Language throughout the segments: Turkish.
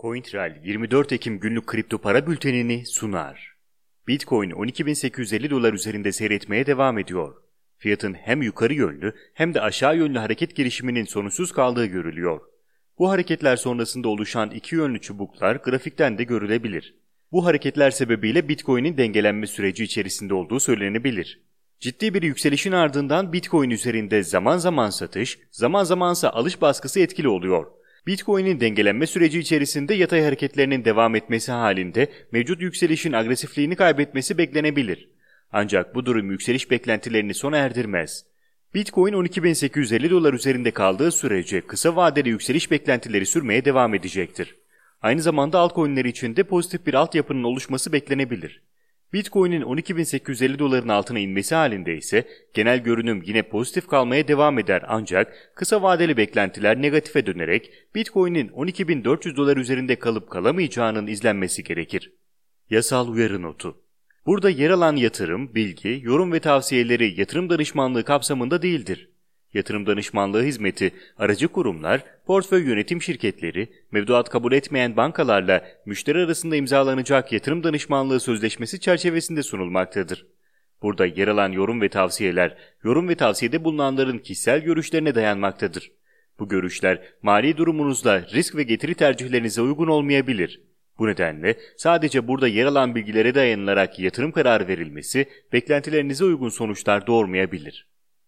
CoinTrail 24 Ekim günlük kripto para bültenini sunar. Bitcoin 12.850 dolar üzerinde seyretmeye devam ediyor. Fiyatın hem yukarı yönlü hem de aşağı yönlü hareket girişiminin sonuçsuz kaldığı görülüyor. Bu hareketler sonrasında oluşan iki yönlü çubuklar grafikten de görülebilir. Bu hareketler sebebiyle Bitcoin'in dengelenme süreci içerisinde olduğu söylenebilir. Ciddi bir yükselişin ardından Bitcoin üzerinde zaman zaman satış, zaman zamansa alış baskısı etkili oluyor. Bitcoin'in dengelenme süreci içerisinde yatay hareketlerinin devam etmesi halinde mevcut yükselişin agresifliğini kaybetmesi beklenebilir. Ancak bu durum yükseliş beklentilerini sona erdirmez. Bitcoin 12.850 dolar üzerinde kaldığı sürece kısa vadeli yükseliş beklentileri sürmeye devam edecektir. Aynı zamanda altcoin'ler için de pozitif bir altyapının oluşması beklenebilir. Bitcoin'in 12.850 doların altına inmesi halinde ise genel görünüm yine pozitif kalmaya devam eder ancak kısa vadeli beklentiler negatife dönerek Bitcoin'in 12.400 dolar üzerinde kalıp kalamayacağının izlenmesi gerekir. Yasal uyarı notu. Burada yer alan yatırım, bilgi, yorum ve tavsiyeleri yatırım danışmanlığı kapsamında değildir. Yatırım danışmanlığı hizmeti, aracı kurumlar, portföy yönetim şirketleri, mevduat kabul etmeyen bankalarla müşteri arasında imzalanacak yatırım danışmanlığı sözleşmesi çerçevesinde sunulmaktadır. Burada yer alan yorum ve tavsiyeler, yorum ve tavsiyede bulunanların kişisel görüşlerine dayanmaktadır. Bu görüşler mali durumunuzla risk ve getiri tercihlerinize uygun olmayabilir. Bu nedenle sadece burada yer alan bilgilere dayanılarak yatırım kararı verilmesi beklentilerinize uygun sonuçlar doğurmayabilir.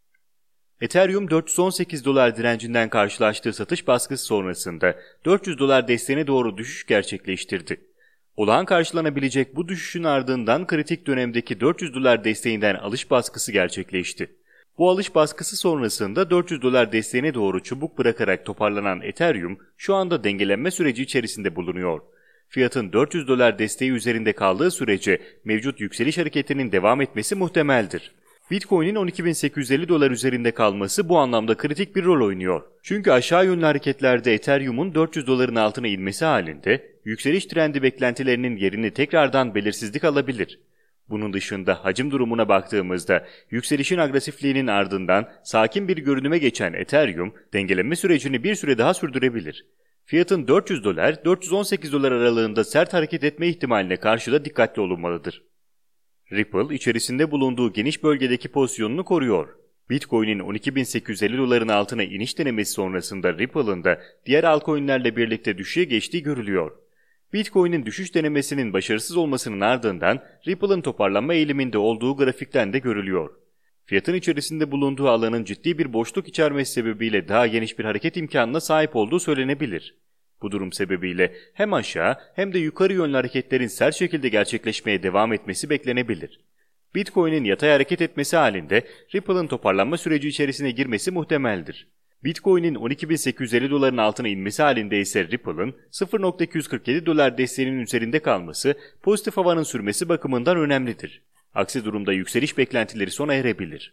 Ethereum 418 dolar direncinden karşılaştığı satış baskısı sonrasında 400 dolar desteğine doğru düşüş gerçekleştirdi. Olağan karşılanabilecek bu düşüşün ardından kritik dönemdeki 400 dolar desteğinden alış baskısı gerçekleşti. Bu alış baskısı sonrasında 400 dolar desteğine doğru çubuk bırakarak toparlanan Ethereum şu anda dengelenme süreci içerisinde bulunuyor. Fiyatın 400 dolar desteği üzerinde kaldığı sürece mevcut yükseliş hareketinin devam etmesi muhtemeldir. Bitcoin'in 12.850 dolar üzerinde kalması bu anlamda kritik bir rol oynuyor. Çünkü aşağı yönlü hareketlerde Ethereum'un 400 doların altına inmesi halinde yükseliş trendi beklentilerinin yerini tekrardan belirsizlik alabilir. Bunun dışında hacim durumuna baktığımızda yükselişin agresifliğinin ardından sakin bir görünüme geçen Ethereum dengelenme sürecini bir süre daha sürdürebilir. Fiyatın 400 dolar-418 dolar aralığında sert hareket etme ihtimaline karşı da dikkatli olunmalıdır. Ripple içerisinde bulunduğu geniş bölgedeki pozisyonunu koruyor. Bitcoin'in 12.850 doların altına iniş denemesi sonrasında Ripple'ın da diğer altcoin'lerle birlikte düşüşe geçtiği görülüyor. Bitcoin'in düşüş denemesinin başarısız olmasının ardından Ripple'ın toparlanma eğiliminde olduğu grafikten de görülüyor. Fiyatın içerisinde bulunduğu alanın ciddi bir boşluk içermesi sebebiyle daha geniş bir hareket imkanına sahip olduğu söylenebilir. Bu durum sebebiyle hem aşağı hem de yukarı yönlü hareketlerin sert şekilde gerçekleşmeye devam etmesi beklenebilir. Bitcoin'in yatay hareket etmesi halinde Ripple'ın toparlanma süreci içerisine girmesi muhtemeldir. Bitcoin'in 12.850 doların altına inmesi halinde ise Ripple'ın 0.247 dolar desteğinin üzerinde kalması pozitif havanın sürmesi bakımından önemlidir. Aksi durumda yükseliş beklentileri sona erebilir.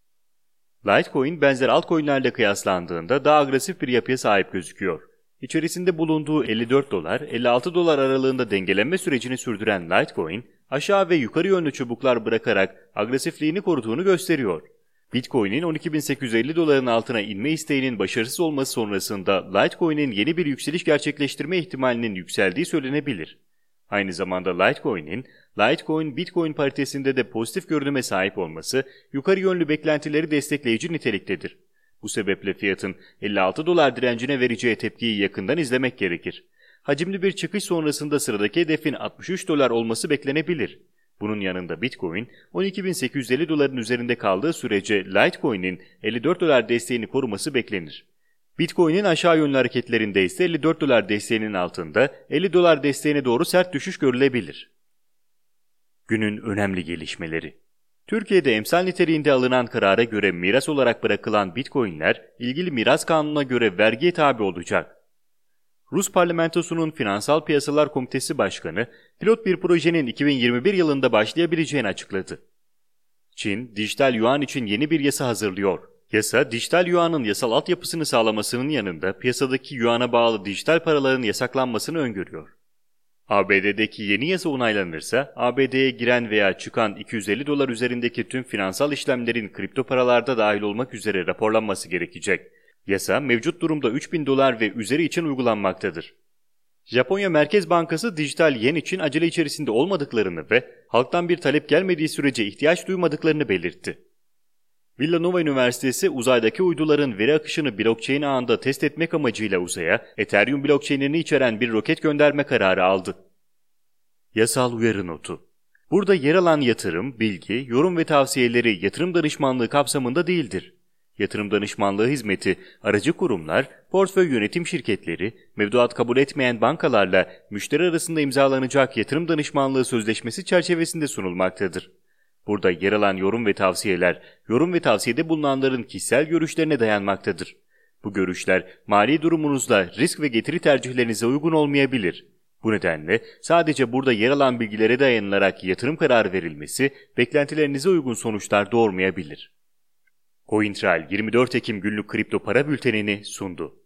Litecoin benzer altcoin'lerle kıyaslandığında daha agresif bir yapıya sahip gözüküyor. İçerisinde bulunduğu 54 dolar, 56 dolar aralığında dengelenme sürecini sürdüren Litecoin, aşağı ve yukarı yönlü çubuklar bırakarak agresifliğini koruduğunu gösteriyor. Bitcoin'in 12.850 doların altına inme isteğinin başarısız olması sonrasında Litecoin'in yeni bir yükseliş gerçekleştirme ihtimalinin yükseldiği söylenebilir. Aynı zamanda Litecoin'in, Litecoin-Bitcoin paritesinde de pozitif görünüme sahip olması, yukarı yönlü beklentileri destekleyici niteliktedir. Bu sebeple fiyatın 56 dolar direncine vereceği tepkiyi yakından izlemek gerekir. Hacimli bir çıkış sonrasında sıradaki hedefin 63 dolar olması beklenebilir. Bunun yanında Bitcoin 12.850 doların üzerinde kaldığı sürece Litecoin'in 54 dolar desteğini koruması beklenir. Bitcoin'in aşağı yönlü hareketlerinde ise 54 dolar desteğinin altında 50 dolar desteğine doğru sert düşüş görülebilir. Günün önemli gelişmeleri. Türkiye'de emsal niteliğinde alınan karara göre miras olarak bırakılan Bitcoin'ler ilgili miras kanununa göre vergiye tabi olacak. Rus parlamentosunun Finansal Piyasalar Komitesi Başkanı, pilot bir projenin 2021 yılında başlayabileceğini açıkladı. Çin, dijital yuan için yeni bir yasa hazırlıyor. Yasa, dijital yuanın yasal altyapısını sağlamasının yanında piyasadaki yuana bağlı dijital paraların yasaklanmasını öngörüyor. ABD'deki yeni yasa onaylanırsa, ABD'ye giren veya çıkan 250 dolar üzerindeki tüm finansal işlemlerin kripto paralarda dahil olmak üzere raporlanması gerekecek. Yasa mevcut durumda 3000 dolar ve üzeri için uygulanmaktadır. Japonya Merkez Bankası dijital yen için acele içerisinde olmadıklarını ve halktan bir talep gelmediği sürece ihtiyaç duymadıklarını belirtti. Villanova Üniversitesi uzaydaki uyduların veri akışını blockchain ağında test etmek amacıyla uzaya Ethereum blockchain'ini içeren bir roket gönderme kararı aldı. Yasal uyarı notu. Burada yer alan yatırım, bilgi, yorum ve tavsiyeleri yatırım danışmanlığı kapsamında değildir. Yatırım danışmanlığı hizmeti, aracı kurumlar, portföy yönetim şirketleri, mevduat kabul etmeyen bankalarla müşteri arasında imzalanacak yatırım danışmanlığı sözleşmesi çerçevesinde sunulmaktadır. Burada yer alan yorum ve tavsiyeler, yorum ve tavsiyede bulunanların kişisel görüşlerine dayanmaktadır. Bu görüşler mali durumunuzla risk ve getiri tercihlerinize uygun olmayabilir. Bu nedenle sadece burada yer alan bilgilere dayanılarak yatırım kararı verilmesi beklentilerinize uygun sonuçlar doğurmayabilir. CoinTrail 24 Ekim günlük kripto para bültenini sundu.